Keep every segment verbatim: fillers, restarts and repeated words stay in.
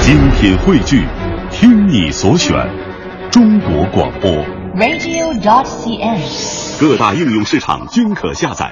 精品汇聚，听你所选，中国广播 radio dot c n， 各大应用市场均可下载。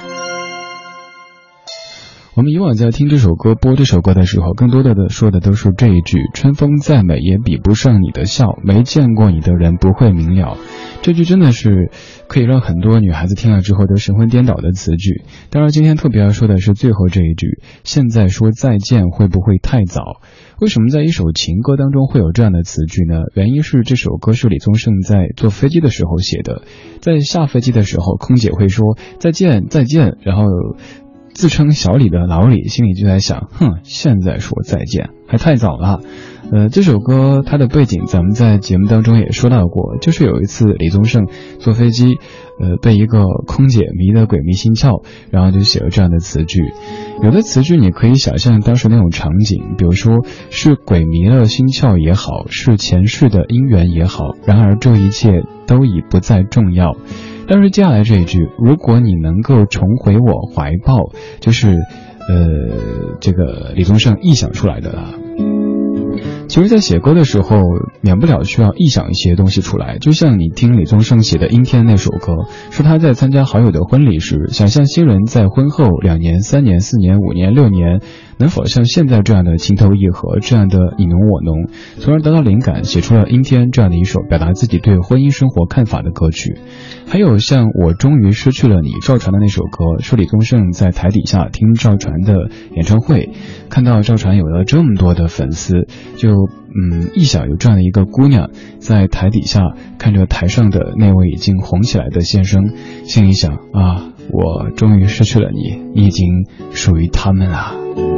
我们以往在听这首歌播这首歌的时候，更多的说的都是这一句：春风再美也比不上你的笑，没见过你的人不会明了。这句真的是可以让很多女孩子听了之后都神魂颠倒的词句。当然今天特别要说的是最后这一句，现在说再见会不会太早？为什么在一首情歌当中会有这样的词句呢？原因是这首歌是李宗盛在坐飞机的时候写的，在下飞机的时候空姐会说再见再见，然后自称小李的老李心里就在想，哼，现在说再见还太早了。呃，这首歌它的背景咱们在节目当中也说到过，就是有一次李宗盛坐飞机，呃，被一个空姐迷得鬼迷心窍，然后就写了这样的词句。有的词句你可以想象当时那种场景，比如说是鬼迷了心窍也好，是前世的姻缘也好，然而这一切都已不再重要。但是接下来这一句，如果你能够重回我怀抱，就是呃，这个李宗盛臆想出来的了。其实在写歌的时候免不了需要臆想一些东西出来，就像你听李宗盛写的阴天那首歌，是他在参加好友的婚礼时，想象新人在婚后两年三年四年五年六年能否像现在这样的情投意合，这样的你侬我侬，从而得到灵感，写出了阴天这样的一首表达自己对婚姻生活看法的歌曲。还有像我终于失去了你，赵传的那首歌，是李宗盛在台底下听赵传的演唱会，看到赵传有了这么多的粉丝，就嗯臆想有这样的一个姑娘在台底下看着台上的那位已经红起来的先生，心里想啊，我终于失去了你，你已经属于他们了。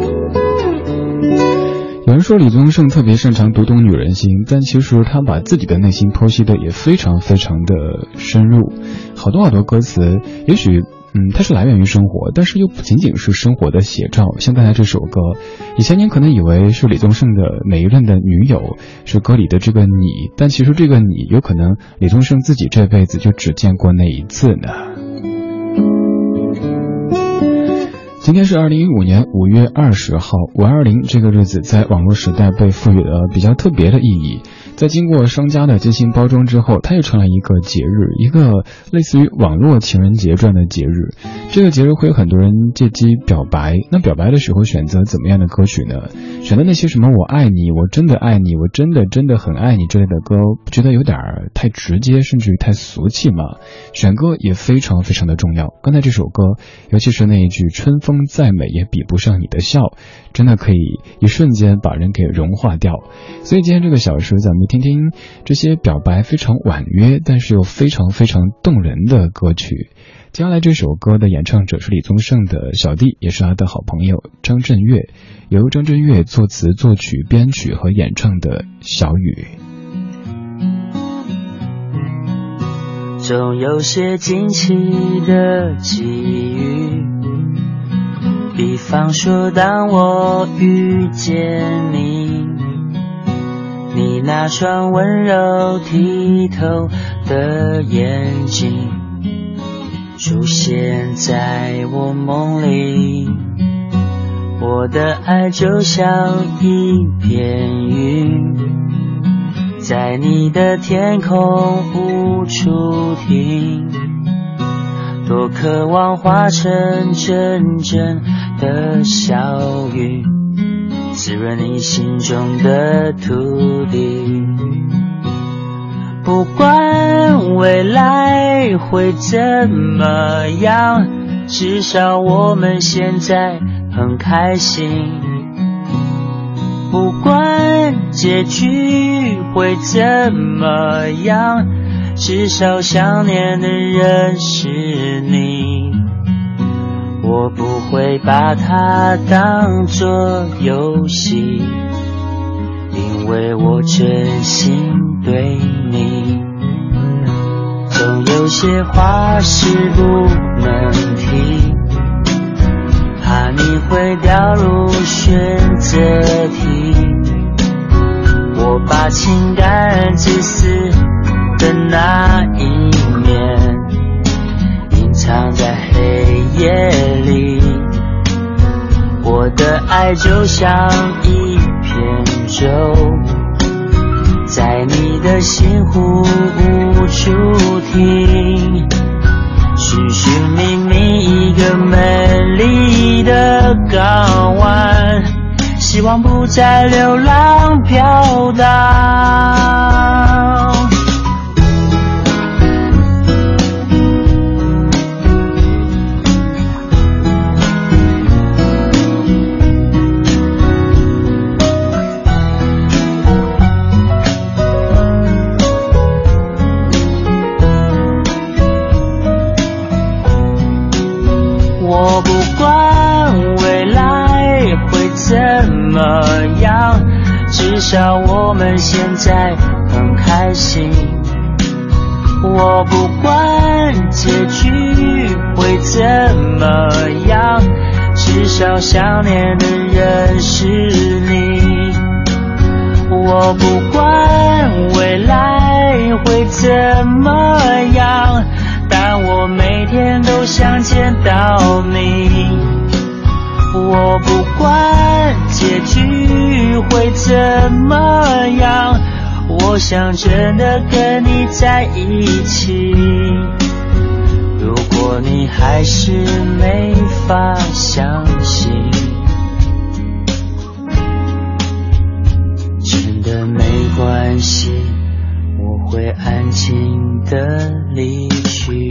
有人说李宗盛特别擅长读懂女人心，但其实他把自己的内心剖析的也非常非常的深入，好多好多歌词也许嗯，它是来源于生活，但是又不仅仅是生活的写照。像刚才这首歌，以前您可能以为是李宗盛的每一任的女友是歌里的这个你，但其实这个你有可能李宗盛自己这辈子就只见过那一次呢。今天是二零一五年五月二十号，五二零这个日子在网络时代被赋予了比较特别的意义。在经过商家的精心包装之后，它又成了一个节日，一个类似于网络情人节这样的节日。这个节日会有很多人借机表白，那表白的时候选择怎么样的歌曲呢？选择那些什么我爱你，我真的爱你，我真的真的很爱你之类的歌，不觉得有点太直接，甚至于太俗气吗？选歌也非常非常的重要。刚才这首歌，尤其是那一句春风再美也比不上你的笑，真的可以一瞬间把人给融化掉。所以今天这个小时咱们听听这些表白非常婉约但是又非常非常动人的歌曲。接下来这首歌的演唱者是李宗盛的小弟，也是他的好朋友张震岳，由张震岳作词作曲编曲和演唱的小雨。 总有些惊奇的际遇，比方说当我遇见你，你那双温柔剔透的眼睛出现在我梦里，我的爱就像一片云，在你的天空无处停，多渴望化成阵阵的小雨，滋润你心中的土地。不管未来会怎么样，至少我们现在很开心。不管结局会怎么样，至少想念的人是你。我不会把它当作游戏，因为我真心对你。总有些话是不能提，怕你会掉入选择题。我把情感自私的那一面隐藏在黑夜里，我的爱就像一片宙，在你的心湖无处停，寻寻觅觅一个美丽的港湾，希望不再流浪飘荡。我不管未来会怎么样，至少我们现在很开心。我不管结局会怎么样，至少想念的人是你。我不管未来会怎么样，但我每天都想见到你。我不管结局会怎么样，我想真的跟你在一起。如果你还是没法相信，真的没关系，我会安静地离去。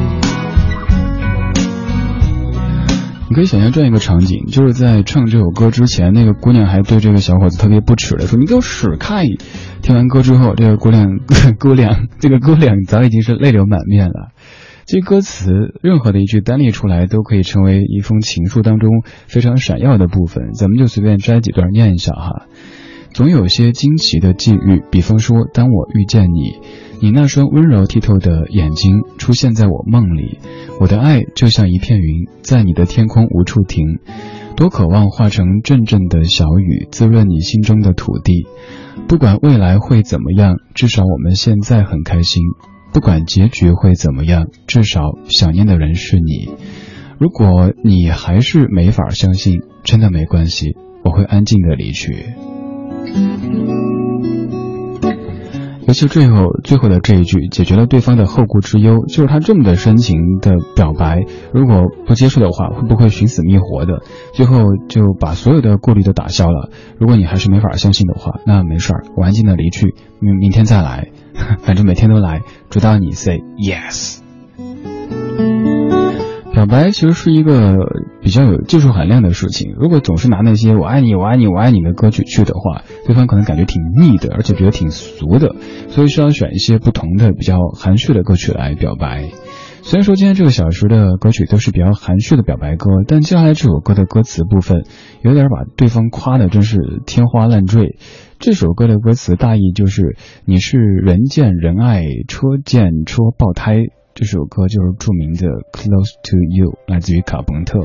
你可以想象这样一个场景，就是在唱这首歌之前，那个姑娘还对这个小伙子特别不耻的说：“你给我使开！”听完歌之后，这个姑娘姑娘这个姑娘早已经是泪流满面了。这歌词任何的一句单列出来，都可以成为一封情书当中非常闪耀的部分。咱们就随便摘几段念一下哈。总有些惊奇的际遇，比方说，当我遇见你，你那双温柔剔透的眼睛出现在我梦里，我的爱就像一片云，在你的天空无处停，多渴望化成阵阵的小雨，滋润你心中的土地。不管未来会怎么样，至少我们现在很开心。不管结局会怎么样，至少想念的人是你。如果你还是没法相信，真的没关系，我会安静的离去。尤其最后最后的这一句解决了对方的后顾之忧，就是他这么的深情的表白，如果不接受的话，会不会寻死觅活的？最后就把所有的顾虑都打消了。如果你还是没法相信的话，那没事儿，我安静的离去，明明天再来，反正每天都来，直到你 say yes。表白其实是一个比较有技术含量的事情，如果总是拿那些我爱你我爱你我爱你的歌曲去的话，对方可能感觉挺腻的，而且觉得挺俗的，所以需要选一些不同的比较含蓄的歌曲来表白。虽然说今天这个小时的歌曲都是比较含蓄的表白歌，但接下来这首歌的歌词部分有点把对方夸的真是天花乱坠。这首歌的歌词大意就是你是人见人爱，车见车爆胎。这首歌就是著名的 Close to You， 来自于卡朋特。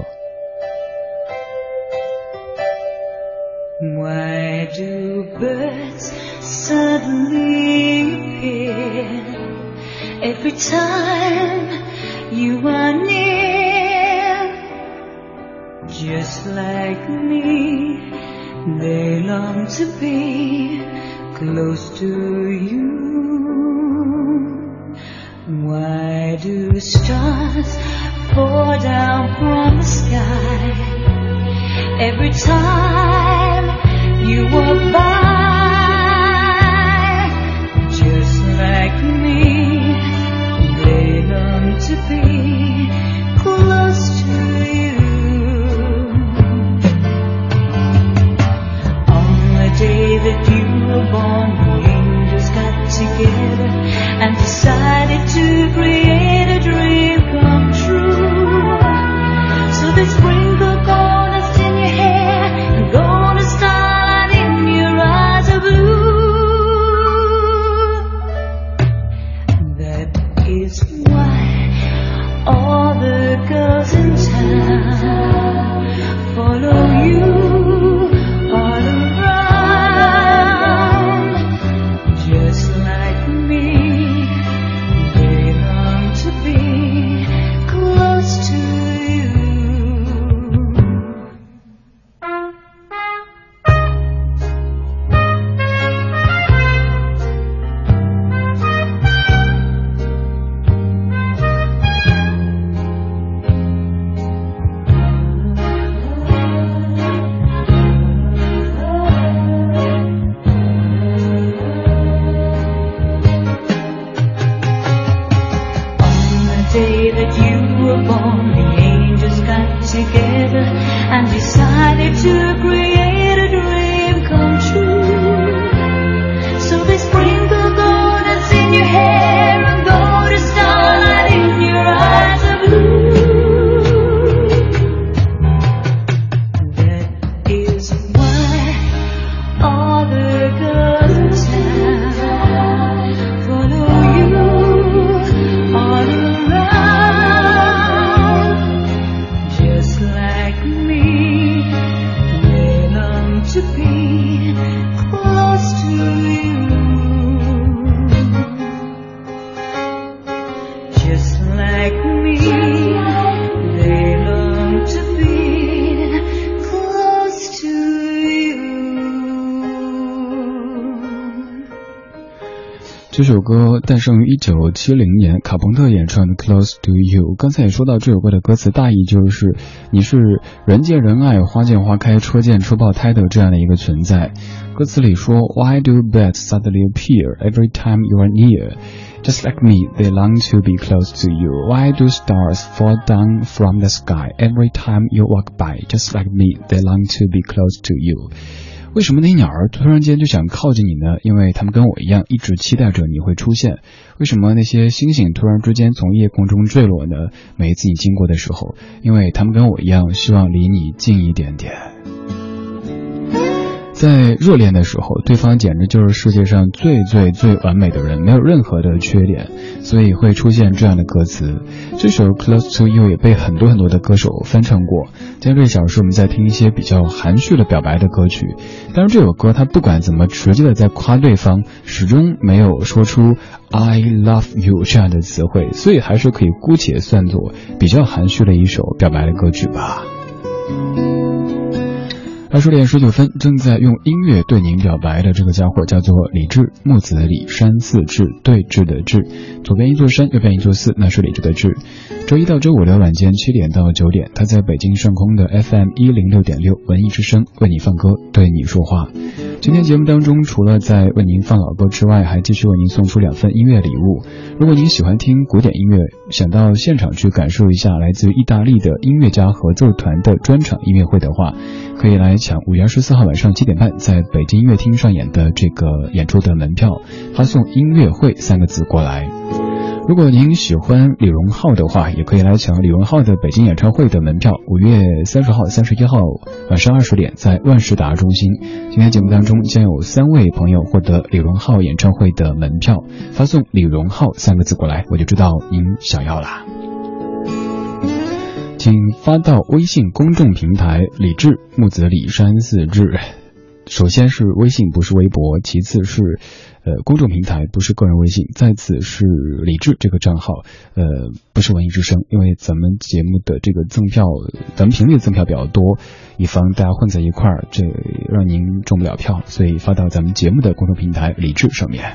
Why do birds suddenly appear every time you are near? Just like me, they long to be close to you.Why do stars fall down from the sky every time you walk by? Just like me, they long to be close to you. On the day that you were born, the angels got together and decided to create a dream come true. So they sprinkle gold dust in your hair and golden starlight in your eyes of blue. That is why all the girls in town follow you all around. 这首歌诞生于一九七零年，卡朋特演唱的 Close to You。 刚才也说到这首歌的歌词大意就是你是人见人爱花见花开车见车爆胎的这样的一个存在。歌词里说 Why do birds suddenly appear every time you are near? Just like me, they long to be close to you. Why do stars fall down from the sky every time you walk by? Just like me, they long to be close to you. 为什么那些鸟儿突然间就想靠近你呢？因为他们跟我一样，一直期待着你会出现。为什么那些星星突然之间从夜空中坠落呢？每一次你经过的时候，因为他们跟我一样，希望离你近一点点。在热恋的时候，对方简直就是世界上最最最完美的人，没有任何的缺点，所以会出现这样的歌词。这首 Close to You 也被很多很多的歌手翻唱过。今天这小时我们在听一些比较含蓄的表白的歌曲，但是这首歌它不管怎么直接的在夸对方，始终没有说出 I love you 这样的词汇，所以还是可以姑且算作比较含蓄的一首表白的歌曲吧。二十点十九分，正在用音乐对您表白的这个家伙叫做李志，木子李，山寺志，对峙的志，左边一座山，右边一座寺，那是李志的志。周一到周五的晚间七点到九点，他在北京上空的 F M 一零六点六文艺之声为你放歌，对你说话。今天节目当中，除了在为您放老歌之外，还继续为您送出两份音乐礼物。如果您喜欢听古典音乐，想到现场去感受一下来自意大利的音乐家合奏团的专场音乐会的话，可以来抢五月二十四号晚上七点半在北京音乐厅上演的这个演出的门票，发送音乐会三个字过来。如果您喜欢李荣浩的话，也可以来抢李荣浩的北京演唱会的门票，五月三十号、三十一号晚上二十点在万事达中心。今天节目当中将有三位朋友获得李荣浩演唱会的门票，发送李荣浩三个字过来，我就知道您想要啦。请发到微信公众平台李志，木子李，山寺志。首先是微信，不是微博，其次是呃公众平台，不是个人微信，再次是李志这个账号，呃不是文艺之声，因为咱们节目的这个赠票，咱们频率赠票比较多，以防大家混在一块儿，这让您中不了票，所以发到咱们节目的公众平台李志上面。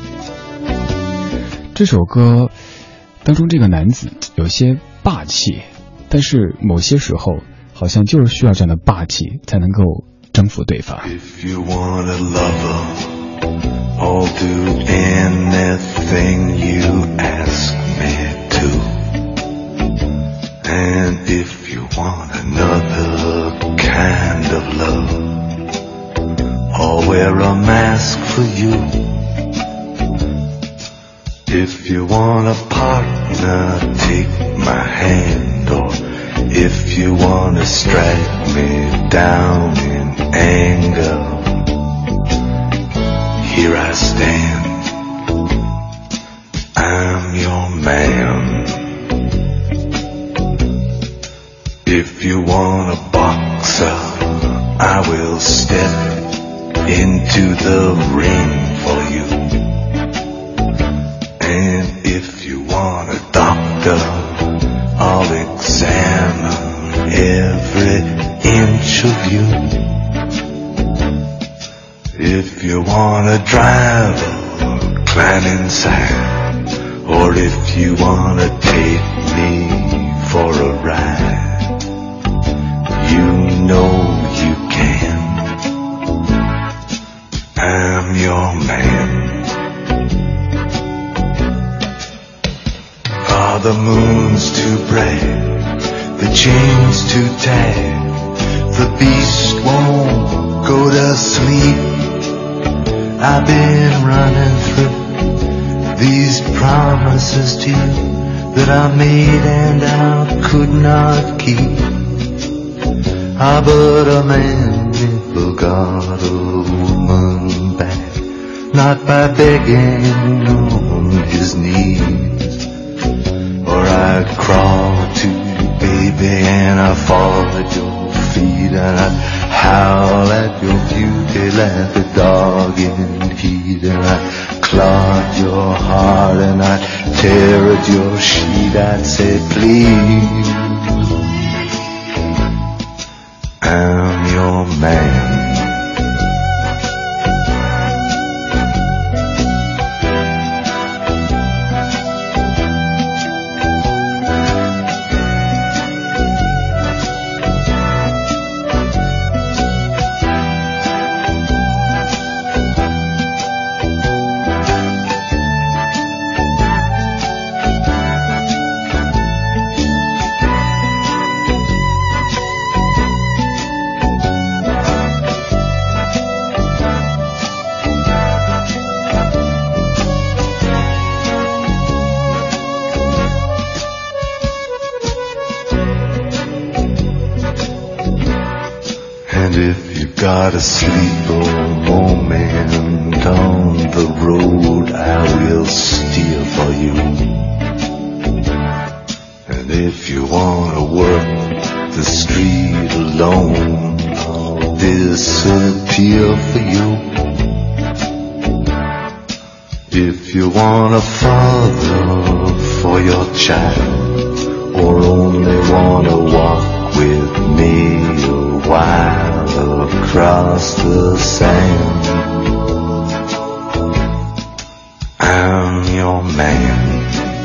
这首歌当中这个男子有些霸气，但是某些时候好像就是需要这样的霸气才能够征服对方。 If you want a lover, I'll do anything you ask me to. And if you want another kind of love, I'll wear a mask for you. If you want a partner, take my hand, or if you want to strike me down in anger, here I stand, I'm your man. If you want a boxer, I will step into the ring for you. And if you want a doctor, I'll examine every inch of you. If you want a driver, climb inside, or if you want to take me for a ride, you know you can. I'm your man. Are the moons too bright, the chains too tight, the beast won't go to sleep? I've been running through these promises to you that I made and I could not keep. Ah, but a man never got a woman back, not by begging on his knees. Or I'd crawl to you, baby, and I'd fall at your feet, and I'd howl at your beauty like a dog in heat, and I'd claw at your heart, and I'd tear at your sheet. I'd say, please, I'm your man. to sleep a moment on the road I will steer for you. And if you wanna work the street alone, I'll disappear for you. If you want a father for your child, or only wanna walk with me a while across the sand, I'm your man.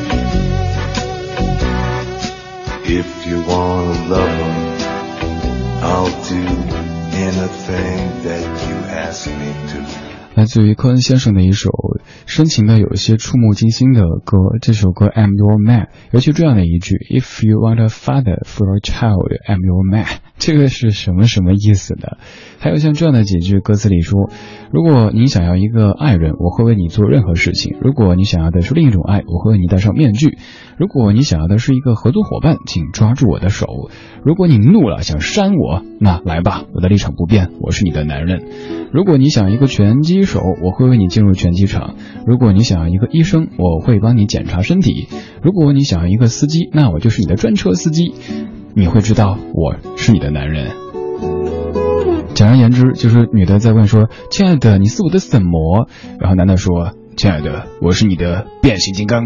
If you wanna love him, I'll do anything that you ask me to. 来自于科恩先生的一首深情的有一些触目惊心的歌，这首歌 I'm Your Man， 尤其这样的一句 If you want a father for your child, I'm your man， 这个是什么什么意思呢？还有像这样的几句歌词里说，如果你想要一个爱人，我会为你做任何事情，如果你想要的是另一种爱，我会为你戴上面具，如果你想要的是一个合作伙伴，请抓住我的手，如果你怒了想扇我，那来吧，我的立场不变，我是你的男人，如果你想一个拳击手，我会为你进入拳击场，如果你想要一个医生，我会帮你检查身体，如果你想要一个司机，那我就是你的专车司机，你会知道我是你的男人。简而言之，就是女的在问说，亲爱的，你是我的什么？然后男的说，亲爱的，我是你的变形金刚。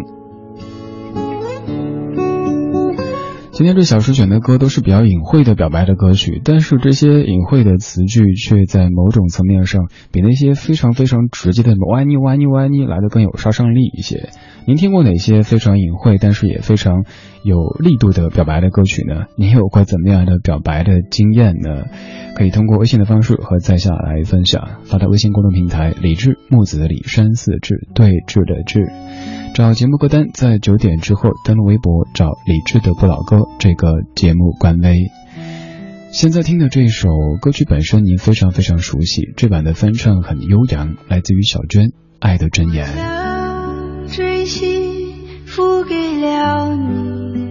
今天这小时选的歌都是比较隐晦的表白的歌曲，但是这些隐晦的词句却在某种层面上比那些非常非常直接的我爱你我爱你我爱你来的更有杀伤力一些。您听过哪些非常隐晦但是也非常有力度的表白的歌曲呢？你有过怎么样的表白的经验呢？可以通过微信的方式和在下来分享，发到微信公众平台李志木子李山四志对峙的志，找节目歌单，在九点之后登录微博找李志的不老歌这个节目官微。现在听的这首歌曲本身您非常非常熟悉，这版的翻唱很悠扬，来自于小娟爱的箴言。 将真心付给了你，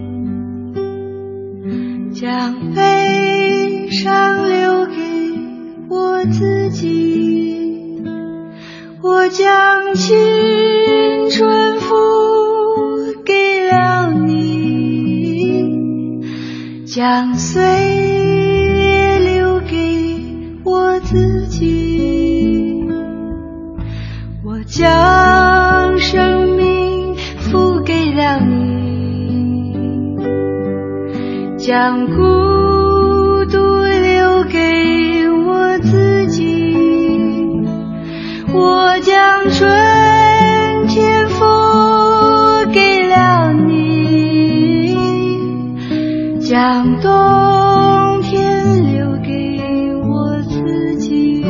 将悲伤留给我自己，我将青春付给了你，将岁月留给我自己，我将生命付给了你，将孤独留给我自己，我将春天付给了你，将冬天留给我自己。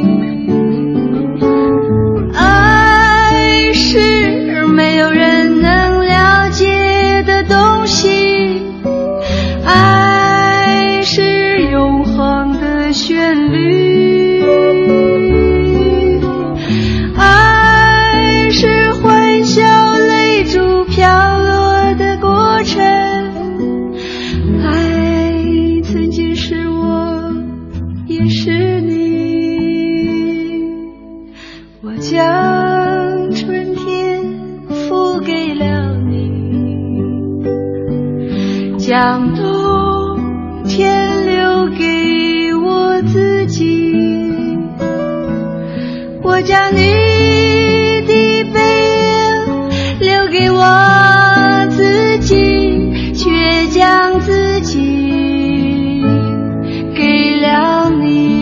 爱是没有人能了解的东西，爱是永恒的旋律，爱是欢笑泪珠飘落的过程，爱曾经是我也是你，我将春天付给了你，将冬天留给我自己，我将你的背影留给我自己，却将自己给了你。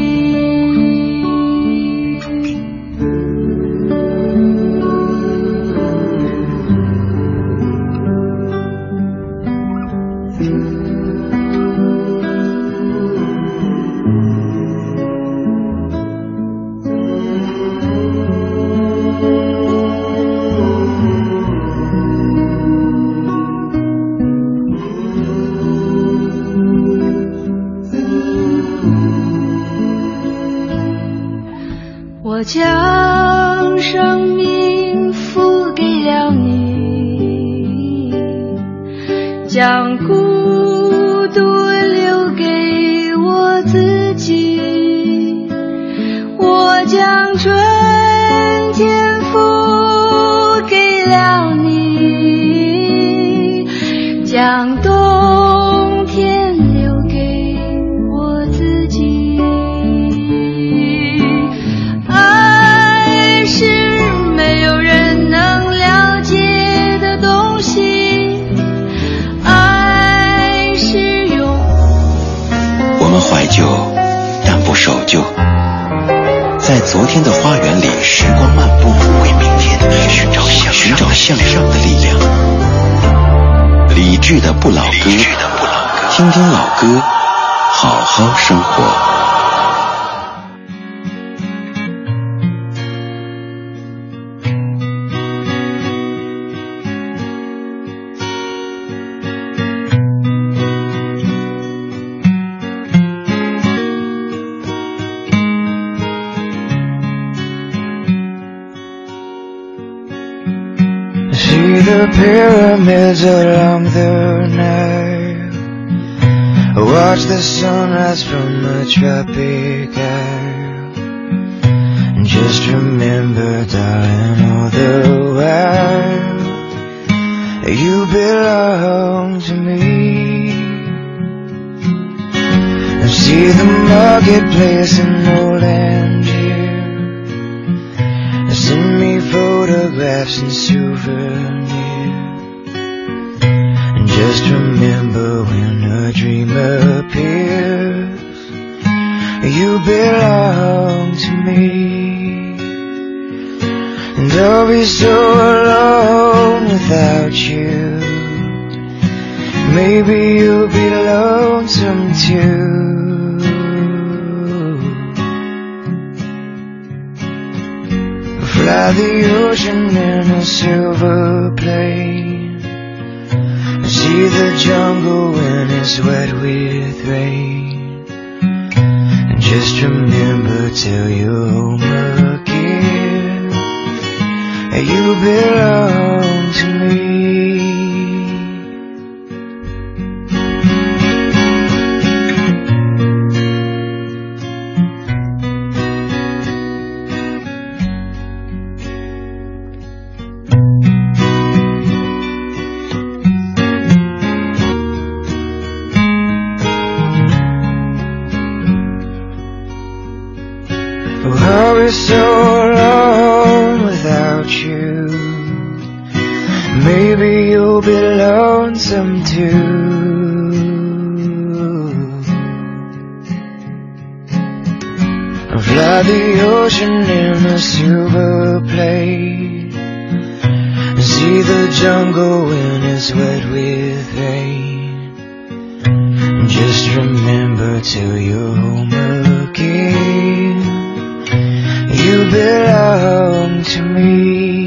我将生命付给了你，将孤独留给我自己， 将春天付给了你，将冬天留给我自己。爱是没有人能了解的东西，爱是永。 我们怀旧，但不守旧。在昨天的花园里，时光漫步，为明天寻找向寻找向上的力量。理智的不老歌，听听老歌，好好生活。 See the pyramids along the Nile, watch the sunrise from a tropic isle, and just remember, darling, all the while you belong to me. And see the marketplace in old Angier, send me photographs and souvenirs, and just remember, when a dream appears, you belong to me. And I'll be so alone without you, maybe you'll be lonesome too. Fly the ocean in a silver plane, see the jungle when it's wet with rain, and just remember, till you're home again, you belong to me. I'll be so alone without you, maybe you'll be lonesome too. Fly the ocean in a silver plane, see the jungle when it's wet with rain, and just remember, till you're home again, you belong to me.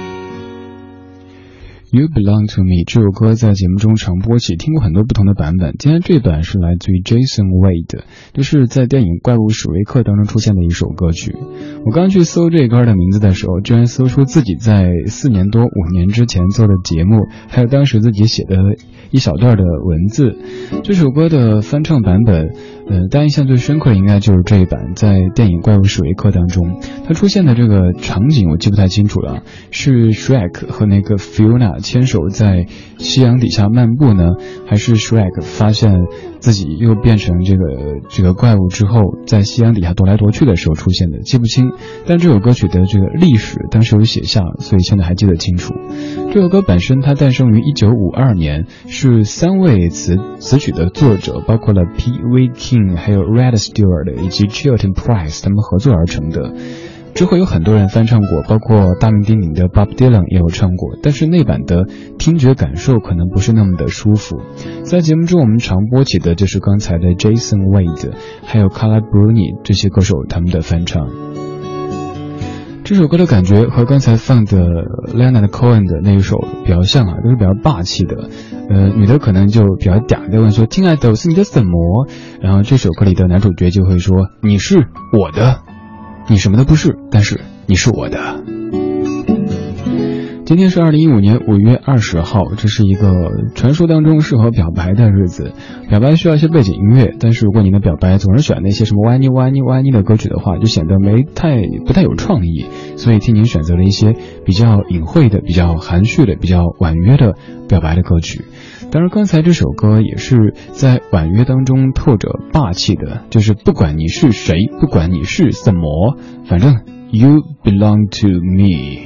You Belong to Me 这首歌在节目中常播起，听过很多不同的版本。今天这版是来自于 Jason Wade， 就是在电影《怪物史瑞克》当中出现的一首歌曲。我刚去搜这歌的名字的时候，居然搜出自己在四年多五年之前做的节目，还有当时自己写的一小段的文字。这首歌的翻唱版本呃，大家印象最深刻的应该就是这一版，在电影《怪物史瑞克》当中，它出现的这个场景我记不太清楚了，是 Shrek 和那个 Fiona 牵手在夕阳底下漫步呢，还是 Shrek 发现自己又变成这个这个怪物之后，在夕阳底下踱来踱去的时候出现的，记不清。但这首歌曲的这个历史当时有写下，所以现在还记得清楚。这首歌本身它诞生于一九五二年，是三位词词曲的作者，包括了 Pee Wee King 还有 Rod Stewart 以及 Chilton Price 他们合作而成的。之后有很多人翻唱过，包括大名鼎鼎的 Bob Dylan 也有唱过，但是那版的听觉感受可能不是那么的舒服。在节目中我们常播起的就是刚才的 Jason Wade 还有 Carla Bruni 这些歌手他们的翻唱。这首歌的感觉和刚才放的 Leonard Cohen 的那一首比较像啊，都是比较霸气的。呃，女的可能就比较嗲的问说，亲爱的，我是你的什么？然后这首歌里的男主角就会说，你是我的，你什么都不是，但是你是我的。 今天是二零一五年五月二十号，这是一个传说当中适合表白的日子。表白需要一些背景音乐，但是如果你的表白总是选那些什么哇妮哇妮哇妮的歌曲的话，就显得没太不太有创意。所以替您选择了一些比较隐晦的、比较含蓄的、比较婉约的表白的歌曲。当然刚才这首歌也是在婉约当中透着霸气的，就是不管你是谁，不管你是什么，反正 You belong to me。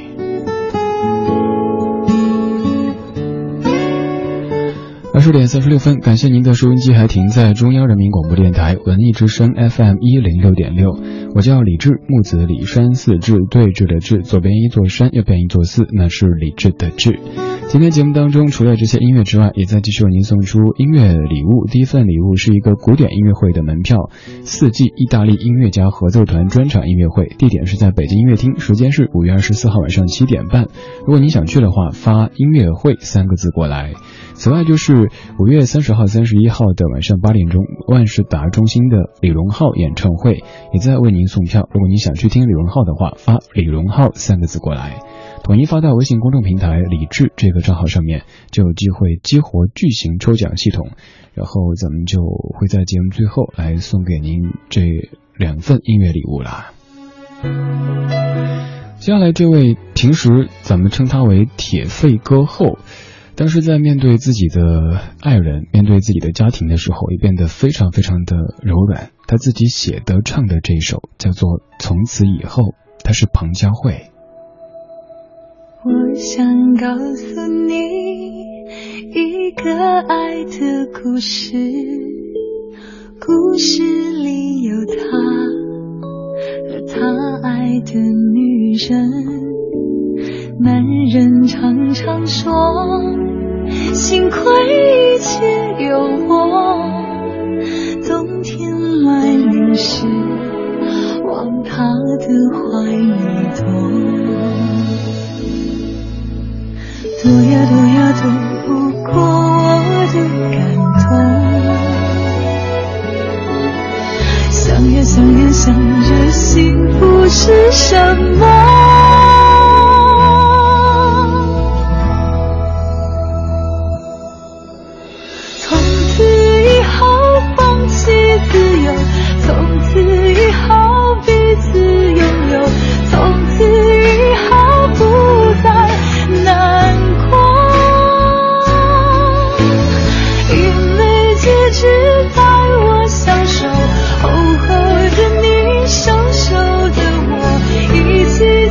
二十点三十六分，感谢您的收音机还停在中央人民广播电台文艺之声 F M 一零六点六。我叫李志，木子李山四志，对峙的志，左边一座山，右边一座寺，那是李志的志。今天节目当中，除了这些音乐之外，也在继续为您送出音乐礼物。第一份礼物是一个古典音乐会的门票，四季意大利音乐家合奏团专场音乐会，地点是在北京音乐厅，时间是五月二十四号晚上七点半。如果你想去的话，发音乐会三个字过来。此外就是五月三十号、三十一号的晚上八点钟，万事达中心的李荣浩演唱会也在为您送票。如果你想去听李荣浩的话，发李荣浩三个字过来，统一发到微信公众平台李志这个账号上面，就有机会激活巨型抽奖系统，然后咱们就会在节目最后来送给您这两份音乐礼物啦。接下来这位平时咱们称他为铁肺歌后，但是在面对自己的爱人、面对自己的家庭的时候，也变得非常非常的柔软。他自己写的唱的这一首叫做《从此以后》，他是庞佳慧。 我想告诉你一个爱的故事，故事里有他和他爱的女人。男人常常说幸亏一切有我，冬天来临时往他的怀里躲，躲呀躲呀躲不过我的感动，想呀想呀想着幸福是什么，自由，从此以后彼此拥有，从此以后不再难过，因为结局在我享受，厚厚的你，瘦瘦的我，一起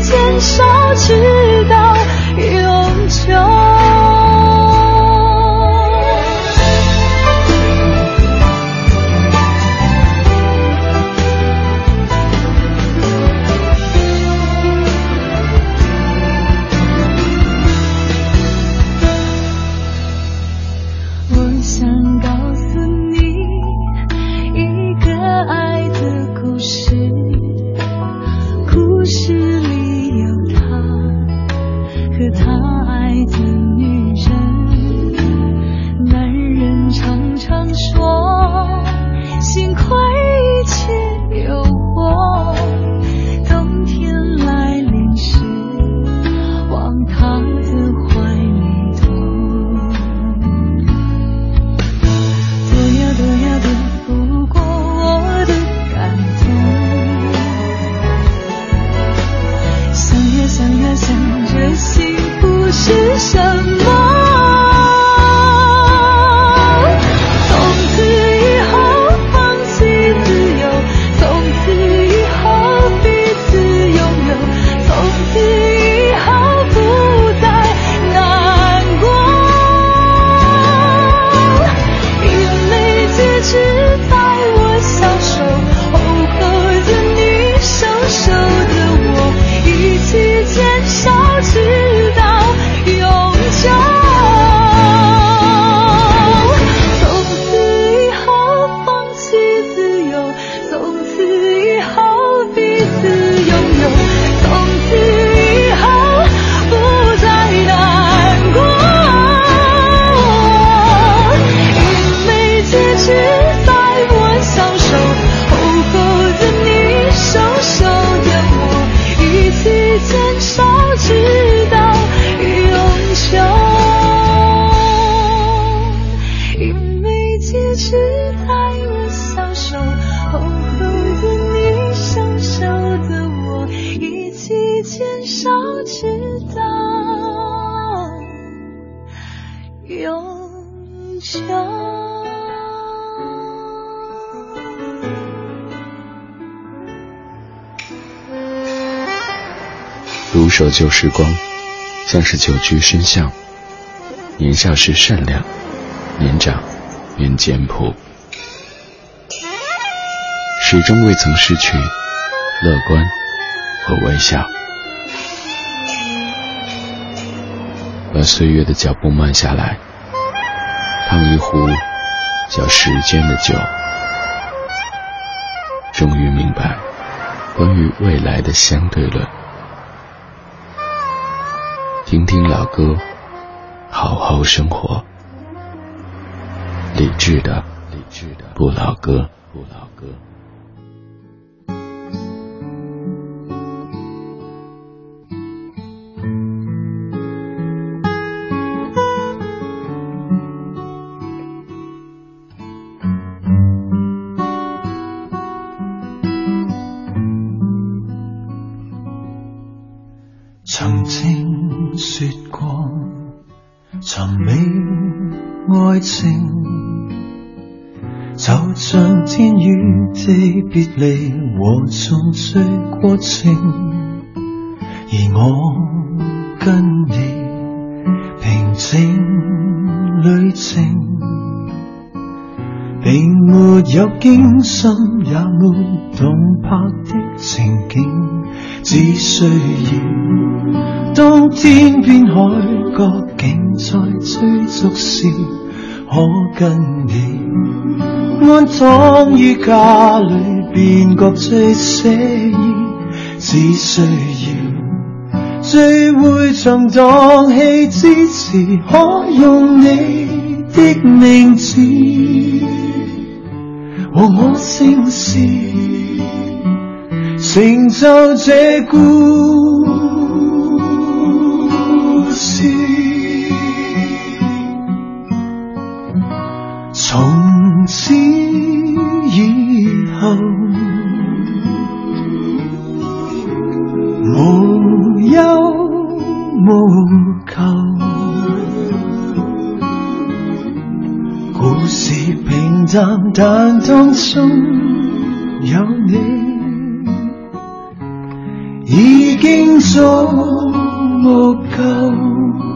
很少知道永久。 独守旧时光，像是久居深巷。年少时善良，年长便简朴，始终未曾失去乐观和微笑。把岁月的脚步慢下来，烫一壶叫时间的酒，终于明白关于未来的相对论。听听老歌，好好生活。理智的理智的不老歌不老歌。 曾經說過尋覓愛情，就像天與地別離和重聚過程，而我跟你平靜旅程，並沒有驚心也沒動魄的情景，只需要當天邊海角竟在追逐時，可跟你安躺於家裏便覺最寫意，只需要聚會場蕩氣之時，可用你的名字和我姓氏，成就這故事。從此以後，無憂無求，故事平淡，但當中有你，已經足夠。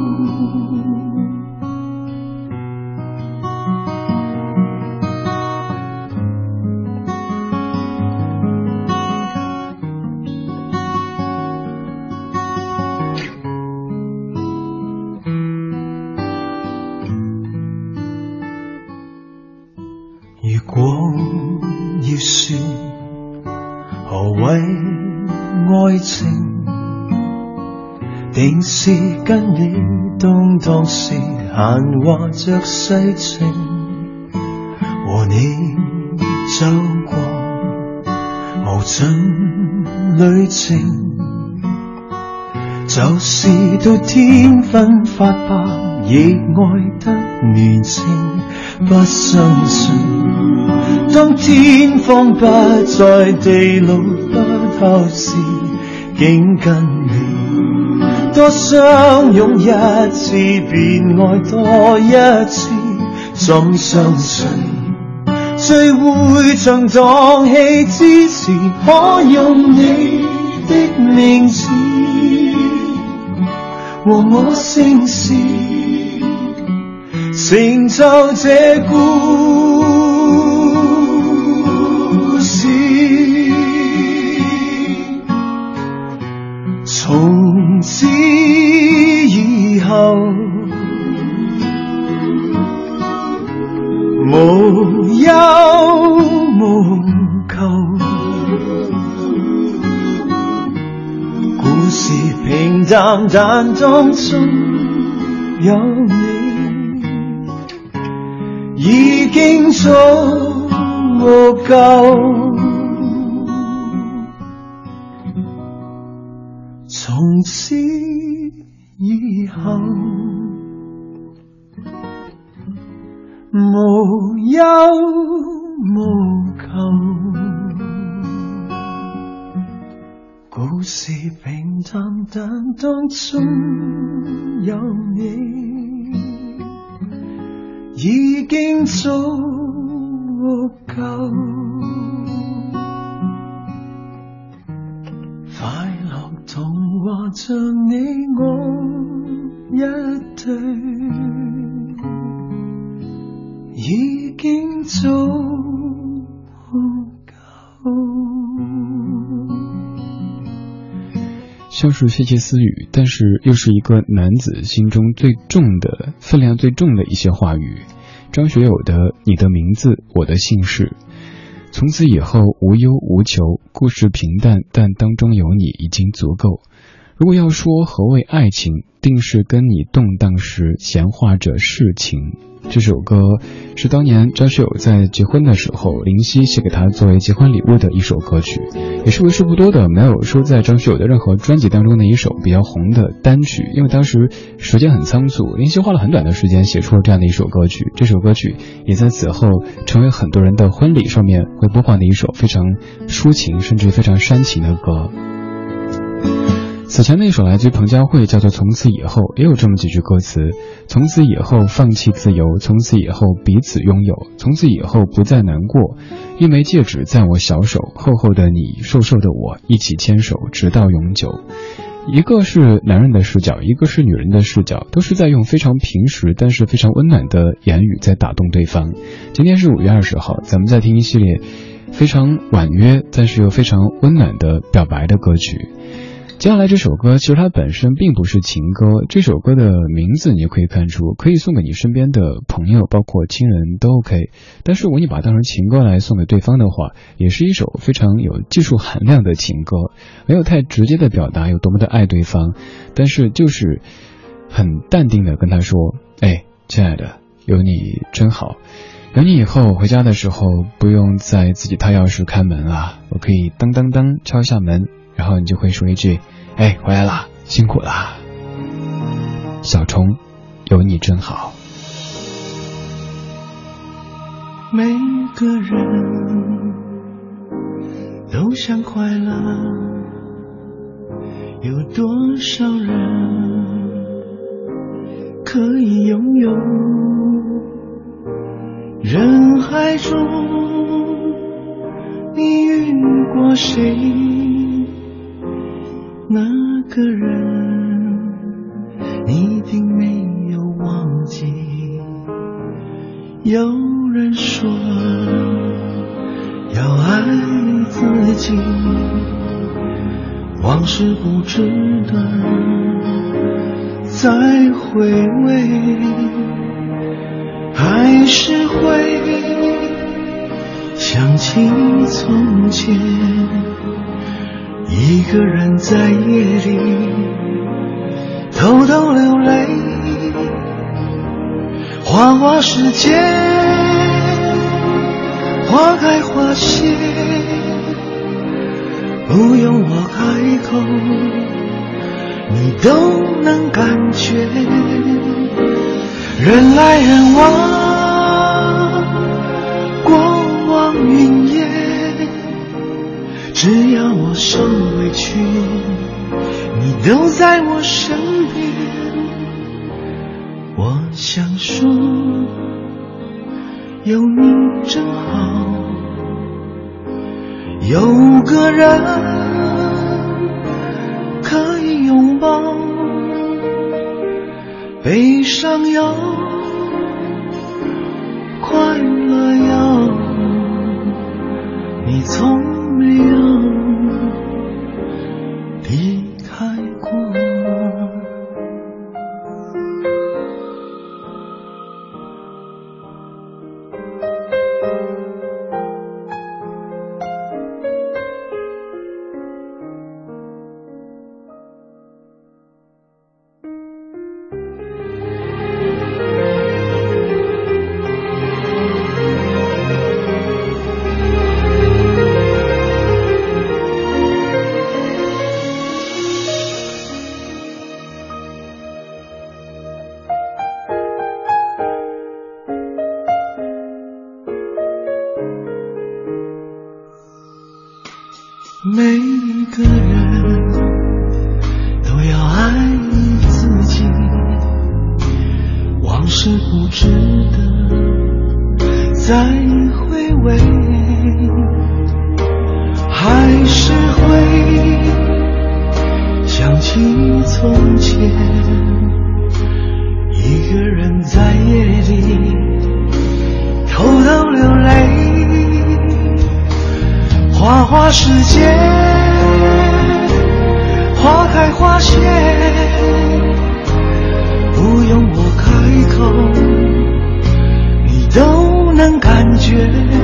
如果要說何謂愛情，定是跟你動盪時閒話着世情，和你走過無盡旅程，就是到天昏發白亦愛得年輕，不相信當天荒不再地老不透時，竟跟你多相擁一次便愛多一次，怎相信聚會場蕩氣之時，可用你的名字和我姓氏，成就這故事。從此以後，無憂無求，故事平淡，但當中有你，已經足夠。從此以後，無憂無求，故故事平淡，但當中有你，已經足夠。快樂童話像你我一對，已經足夠。 像是窃窃私语，但是又是一个男子心中最重的分量最重的一些话语。张学友的你的名字我的姓氏，从此以后无忧无求，故事平淡，但当中有你已经足够。如果要说何谓爱情，定是跟你动荡时闲话着世情。这首歌是当年张学友在结婚的时候，林夕写给他作为结婚礼物的一首歌曲，也是为数不多的没有收在张学友的任何专辑当中的一首比较红的单曲。因为当时时间很仓促，林夕花了很短的时间写出了这样的一首歌曲，这首歌曲也在此后成为很多人的婚礼上面会播放的一首非常抒情甚至非常煽情的歌。此前那首来自于彭佳慧叫做从此以后，也有这么几句歌词：从此以后放弃自由，从此以后彼此拥有，从此以后不再难过，一枚戒指在我小手，厚厚的你，瘦瘦的我，一起牵手直到永久。一个是男人的视角，一个是女人的视角，都是在用非常平实但是非常温暖的言语在打动对方。今天是五月二十号，咱们在听一系列非常婉约但是又非常温暖的表白的歌曲。接下来这首歌其实它本身并不是情歌，这首歌的名字你也可以看出可以送给你身边的朋友包括亲人都 OK， 但是如果你把它当成情歌来送给对方的话，也是一首非常有技术含量的情歌，没有太直接的表达有多么的爱对方，但是就是很淡定的跟他说，哎，亲爱的，有你真好，有你以后回家的时候不用再自己掏钥匙开门了，我可以当当当敲一下门，然后你就会说一句，哎，回来啦，辛苦啦，小虫，有你真好。 每个人都想快乐，有多少人可以拥有？人海中你遇过谁？那个人你一定没有忘记。有人说要爱自己，往事不值得再回味，还是会想起从前，一个人在夜里偷偷流泪。花花世界，花开花谢，不用我开口，你都能感觉。人来人往，过往云烟，只要我受委屈，你都在我身边。我想说，有你真好，有个人可以拥抱，悲伤有，快乐有，你从没有离开过。 再回味，还是会想起从前，一个人在夜里偷偷流泪。花花世界，花开花谢，不用我开口，你都能感觉。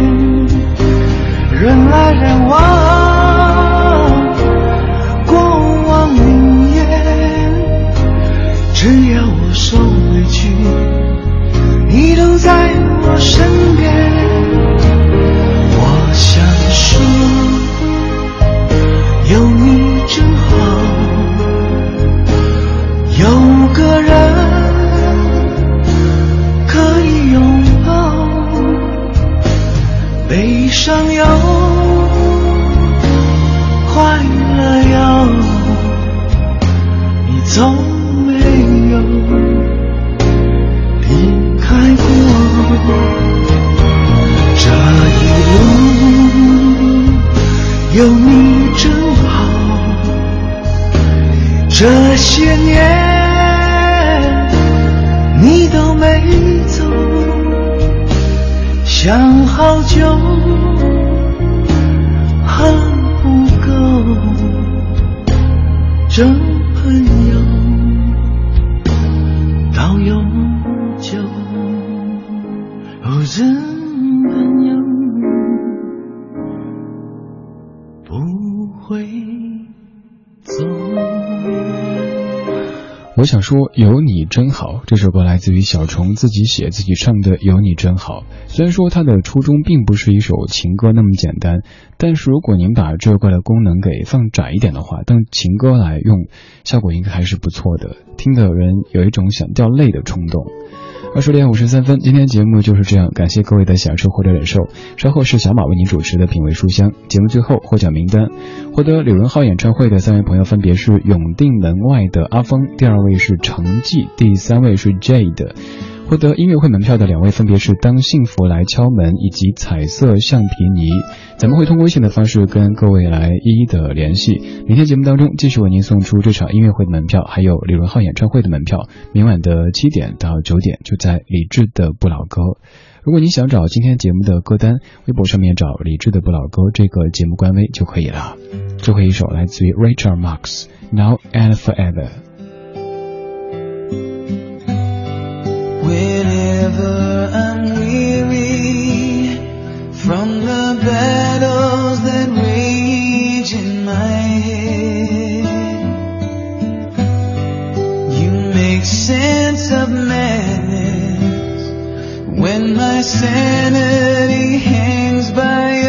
人来人往，过往云烟，只要我受委屈，你都在我身边。我想说，有你真好，有个人可以拥抱，悲伤有，快乐有，你从没有离开过。这一路有你真好，这些年你都没走，想好久还不够，真朋友到永久，哦，真朋友不会走。 我想说有你真好，这首歌来自于小虫自己写自己唱的有你真好。虽然说它的初衷并不是一首情歌那么简单，但是如果您把这首歌的功能给放窄一点的话，当情歌来用，效果应该还是不错的，听的人有一种想掉泪的冲动。二十点五十三分，今天节目就是这样，感谢各位的享受或者忍受。稍后是小马为您主持的品味书香，节目最后获奖名单，获得李荣浩演唱会的三位朋友分别是永定门外的阿峰，第二位是程记，第三位是 Jade。获得音乐会门票的两位分别是当幸福来敲门以及彩色橡皮泥，咱们会通过微信的方式跟各位来一一的联系。明天节目当中继续为您送出这场音乐会的门票，还有李荣浩演唱会的门票，明晚的七点到九点就在李志的不老歌。如果你想找今天节目的歌单，微博上面找李志的不老歌这个节目官微就可以了。最后一首来自于 Rachel Marx Now and Forever。Whenever I'm weary from the battles that rage in my head, you make sense of madness when my sanity hangs by